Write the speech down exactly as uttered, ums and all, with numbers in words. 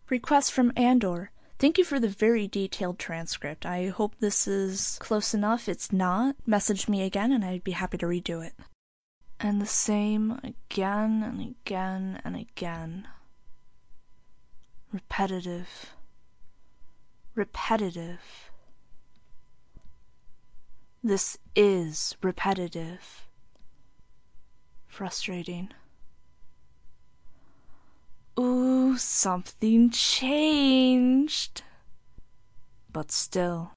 Request from Andor. Thank you for the very detailed transcript. I hope this is close enough. It's not, message me again and I'd be happy to redo it. And the same again and again and again. Repetitive. Repetitive. This is repetitive. Frustrating. Ooh, something changed. But still.